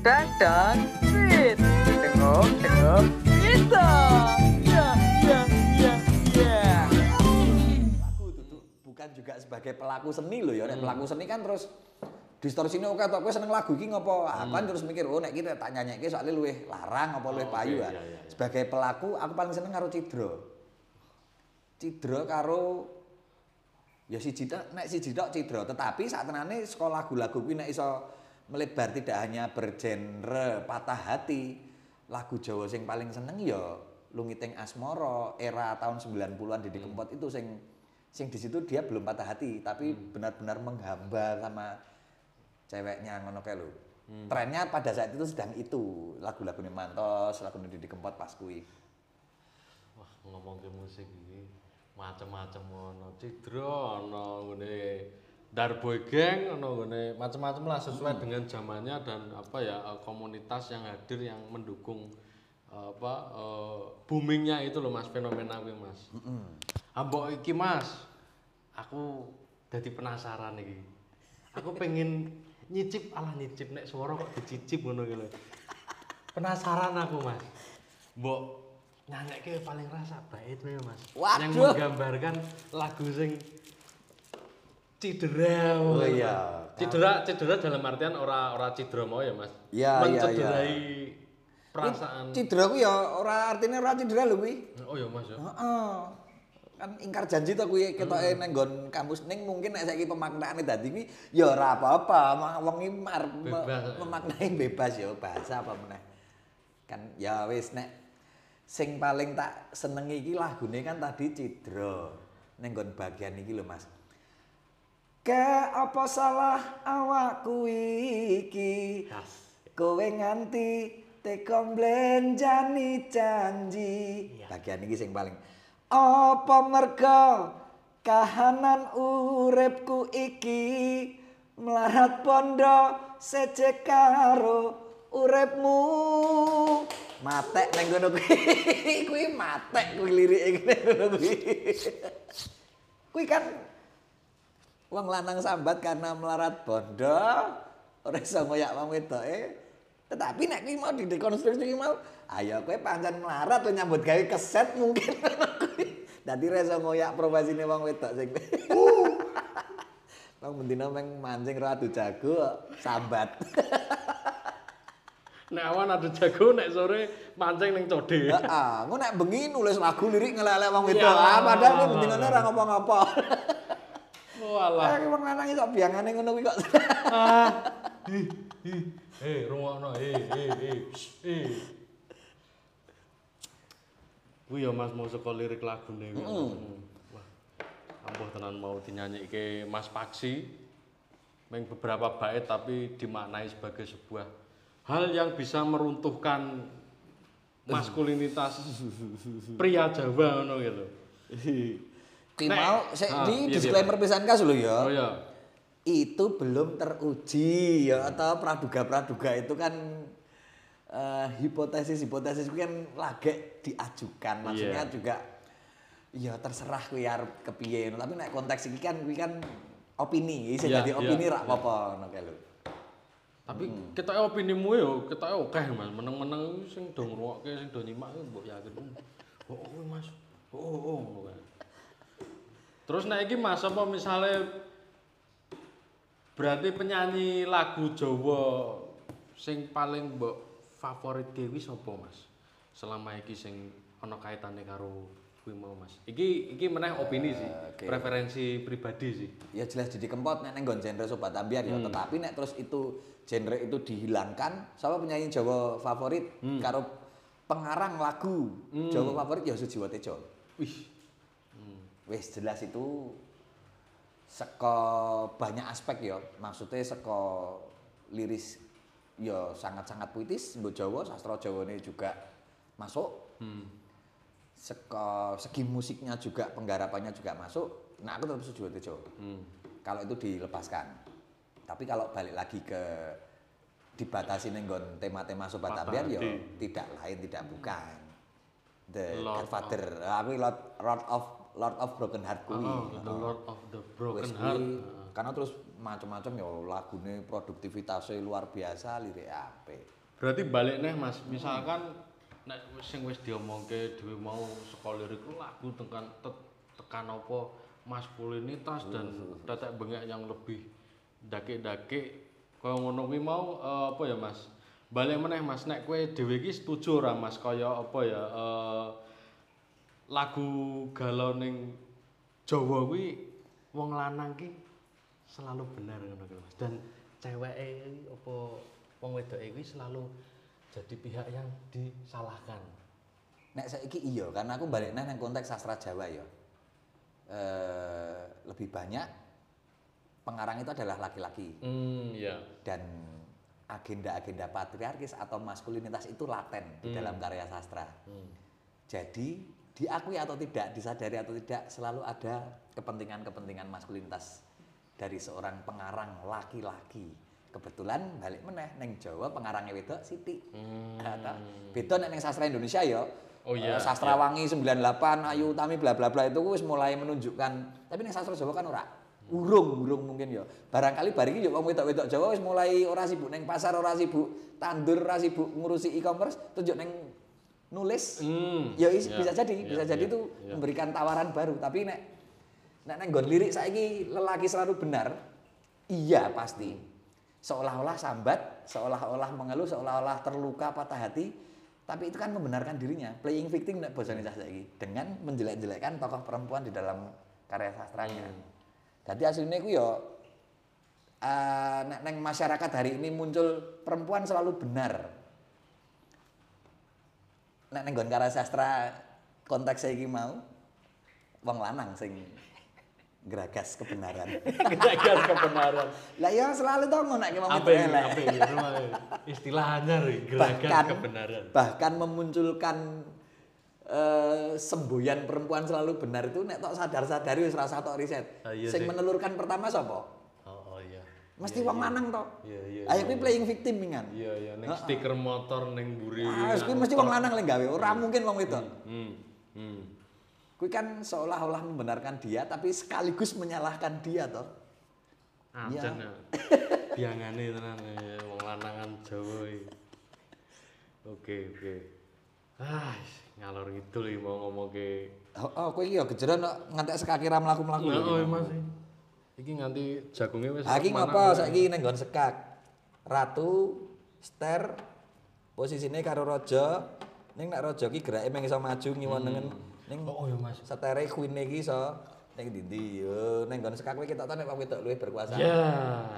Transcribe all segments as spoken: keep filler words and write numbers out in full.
Dadang Sweet. Tengok, tengok, kita. Ya, ya, ya, ya. Aku itu bukan juga sebagai pelaku seni loh ya. Nek pelaku seni kan terus distorsinya oke tok kowe seneng lagu iki ngopo? Aku kan terus mikir, oh nek iki tak nyanyikke soalnya luwih larang apa luwih Oh, payu oke, ah. iya, iya, iya. Sebagai pelaku aku paling seneng karo Cidra. Cidra karo ya siji tok nek siji tok Cidra, tetapi saktenane saka lagu-lagu kuwi nek iso melebar tidak hanya bergenre patah hati. Lagu Jawa sing paling seneng ya Lungiting Asmara era tahun sembilan puluhan Didi Kempot itu sing sing di situ dia belum patah hati tapi benar-benar menghamba sama ceweknya ngono kae lho. Hmm. Trennya pada saat itu sedang itu, lagu-lagunya Mantos, lagu Didi Kempot pas kuwi. Wah, ngomong ke musik iki macam-macam ono Cidra, ono ngene Darboy Gang, ono ngene macam-macam lah sesuai hmm. dengan zamannya dan apa ya komunitas yang hadir yang mendukung apa uh, boomingnya itu loh Mas, fenomena kuwi Mas. Heeh. Mm-hmm. Ambok iki Mas, aku jadi penasaran iki. Aku pengen nyicip ala nyicip nek swara kok dicicip ngono iki lho. Penasaran aku Mas. Mbok nyanyikke paling rasa bait ya Mas. Waduh. Yang menggambarkan lagu sing cidera. Oh iya. Cidera cidera dalam artian ora ora cidra mau ya Mas. Ya, mencederai ya, ya. perasaan. Cidra ku ya ora artine ora cidra lho kuwi. Oh ya Mas ya. Heeh. Kan ingkar janji to kuwi ketoke nang nggon kamus ning mungkin nek saiki pemaknaane dadi kuwi ya ora apa-apa, wong iki memaknai bebas ya bahasa apa meneh. Kan ya wis nek sing paling tak senengi iki lagune kan tadi Cidra. Ning nggon bagian iki lho Mas. Ke apa salah awakku iki? Kowe nganti teko mblenjani janji. Bagian iki sing paling apa merga kahanan uripku iki melarat pondo seje karo uripmu. Matek nang ngono kuwi. Kuwi matek kuwi lirike ngono kuwi. Kuwi kan wong lanang sambat karena melarat bondo ora iso ngoyak wong wedoke. Tetapi nek kuwi mau didekonstruksi mau, ayo kowe pancen melarat lo nyambut gawe keset mungkin. Dadi ora iso ngoyak profesine wong wedok sing. Wong mendina meng mancing ora adu jago sambat. Nek awan adu jago, nek sore mancing ning code. Heeh, engko nek bengi nulis lagu lirik ngelelek wong wedok. Ah, padahal kowe mendinane ora ngapa-ngapa. Walah. Ah, wong lanang iso biangane ngono kuwi kok. Ah. Hi, hi. Eh, rungokno. Eh, eh, eh. Eh. Kuwi ya Mas mau saka lirik lagune kuwi. Wah. Ampuh tenan mau dinyanyikke Mas Paksi. Meng beberapa bait tapi dimaknai sebagai sebuah hal yang bisa meruntuhkan maskulinitas pria Jawa ngono gitu. Ki mau sik ah, di iya, disclaimer pisan kas lho ya. Oh ya. Itu belum teruji ya atau praduga-praduga itu kan uh, hipotesis-hipotesis itu kan lagi diajukan maksudnya yeah. juga ya terserah kuwi arep kepiye tapi nek konteks iki kan kuwi kan opini iso yeah, dadi opini yeah, rak yeah. apa ngono kae lho. Tapi hmm. ketoke opinimu yo ketoke akeh Mas meneng-meneng sing do ngrungokke sing do nyimak mbok yakin. Oh, oh Mas. Oh, oh, oh. Terus nek iki Mas apa misale berarti penyanyi lagu Jawa sing paling mbok favorit dewi sapa Mas? Selama iki sing ana kaitane karo kuwi mau Mas. Iki iki meneh opini sih, uh, okay. preferensi pribadi sih. Ya jelas Didi Kempot nek nggon genre Sobat Ambiar ya, hmm. tetapi nek terus itu genre itu dihilangkan, siapa penyanyi Jawa favorit hmm. karo pengarang lagu hmm. Jawa favorit ya Sujiwo Tejo. Wih. Hmm. Wis jelas itu saka banyak aspek ya, maksudnya saka liris ya sangat-sangat puitis, mbok Jawa, sastra Jawane juga masuk. Hmm. Seka segi musiknya juga, penggarapannya juga masuk. Nah, aku tetap Sujiwo Tejo. Hmm. Kalau itu dilepaskan. Tapi kalau balik lagi ke dibatasi nenggon tema-tema Sobat Ambiar ya tidak lain tidak bukan. The Lord Godfather. Aku Lord, Lord of Lord of Broken Heart kuwi. Oh, the Lord of the Broken Heart. karena terus macam-macam ya lagune produktivitasnya luar biasa, lirik apik. Berarti balik nih Mas, misalkan nek sing wis diomongke dhewe mau saka lirik lagu tekan te, tekan apa maskulinitas dan tetek bengek yang lebih dake-dake kaya ngono kuwi mau uh, apa ya Mas? Balik meneh Mas, nek kowe dhewe iki setuju ora Mas kaya apa ya uh, lagu galau ning Jawa kuwi wong lanang ki selalu benar ngono kuwi Mas. Dan ceweke apa wong wedoke kuwi selalu jadi pihak yang disalahkan. Nek saiki iya, karena aku balik nang konteks sastra Jawa ya. Eh, lebih banyak pengarang itu adalah laki-laki. Hmm, iya. Dan agenda-agenda patriarkis atau maskulinitas itu laten di Hmm. dalam karya sastra. Hmm. Jadi diakui atau tidak, disadari atau tidak, selalu ada kepentingan-kepentingan maskulinitas dari seorang pengarang laki-laki. Kebetulan balik meneh neng Jawa pengarangnya wedok Siti. Hmm. Beda nek neng sastra Indonesia ya. Oh iya. Uh, sastra iya. Wangi sembilan puluh delapan, Ayu Utami bla bla bla itu wis mulai menunjukkan. Tapi neng sastra Jawa kan ora. Urung, urung mungkin ya. Barangkali bar iki yo wong wedok-wedok Jawa wis mulai ora sibuk neng pasar, ora sibuk tandur, ora sibuk ngurusi e-commerce, tunjuk neng nulis. Hmm. Ya is, Ya, bisa jadi, ya, bisa jadi ya, itu ya. memberikan tawaran baru. Tapi nek nek neng nggon lirik saiki lelaki selalu benar. Iya pasti. Seolah-olah sambat, seolah-olah mengeluh, seolah-olah terluka, patah hati, tapi itu kan membenarkan dirinya, playing victim nek basa Indonesia saiki dengan menjelek-jelekkan tokoh perempuan di dalam karya sastranya. Hmm. Jadi aslinya itu ya uh, nek neng masyarakat hari ini muncul perempuan selalu benar. Nek neng nggon karya sastra konteks saiki mau wong lanang sing geragas kebenaran. Geragas kebenaran. Lah ya selalu to ngono nek wong Apa itu ini? elek. Apa ini? Istilahnya nih, geragas Bahkan kebenaran. bahkan memunculkan eh, semboyan perempuan selalu benar itu nek tok sadar-sadari wis rasa tok riset. Ah, iya Sing sih. menelurkan pertama sapa? Oh, oh iya. Mesti Iya, wong iya. lanang to. Iya, iya. Ayo iya, kuwi iya. playing victim kan. Iya, iya, ning stiker motor ning mburi. Ah, kuwi mesti wong lanang lek gawe, ora mungkin wong wedok. Hmm. Hmm. Kuwi kan seolah-olah membenarkan dia tapi sekaligus menyalahkan dia toh. Ancen ya. Biangane tenan ya wong lanangan Jawa iki. Oke, oke. Ah, ngalor ngidul iki mau ngomongke. Oh, oh kowe iki ya gejeron kok ngantek sekaki ra mlaku-mlaku. Nah, oh Mas. Iki nganti jagunge wis. Ha iki mana ngopo wae. saiki ning nggon sekak. Ratu, Ster, posisine karo raja. Ning nek raja ki gerake mung iso maju ngiwonengen ning Oh, oh ya Mas. setere queen iki iso ning ndi yo ning nggon sekak kowe ketok nek wong wedok luwih berkuasa. Ya,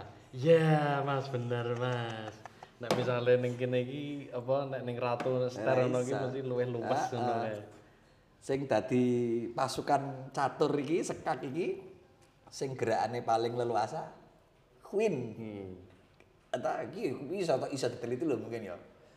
ya Mas bener Mas. Nek misale ning kene iki apa nek ning ratu Sterono iki Iso. mesti luwih luwes Ah, ngono ah. kae. Sing dadi pasukan catur iki sekak iki sing gerakane paling leluasa queen. Hmm. Eta iki bisa iso diteliti lho mungkin ya.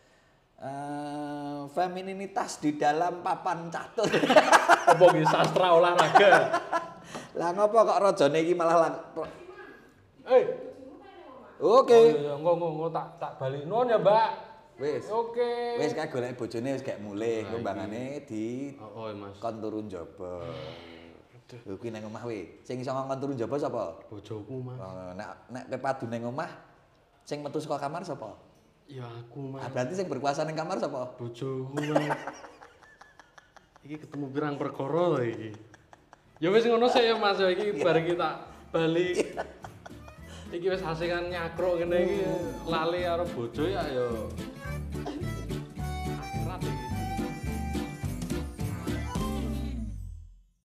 Eh, femininitas di dalam papan catur. Apa iki sastra olahraga? Lah ngopo kok rajane iki malah lang... Eh, Oke. oh iya, engko engko engko tak tak balik nuwun ya, Mbak. Wis. Oke. Wis kae golek bojone wis gak mulih, Nah, kembangane di Oh, oh Mas. kon turu njaba. Lho kuwi nang omah we. Sing iso ngongkon turu njaba sapa? Bojoku, Mas. Oh, nek nek kowe padu ning omah sing metu saka kamar sapa? Ya aku, Mas. Ah, berarti sing berkuasa ning kamar sapa? Bojoku, Mas. Iki ketemu pirang perkara lho iki. Ya wis ngono sik ya Mas, ya iki bareng kita balik. Iki wis asikan nyakruk kene iki lali karo bojo ya ya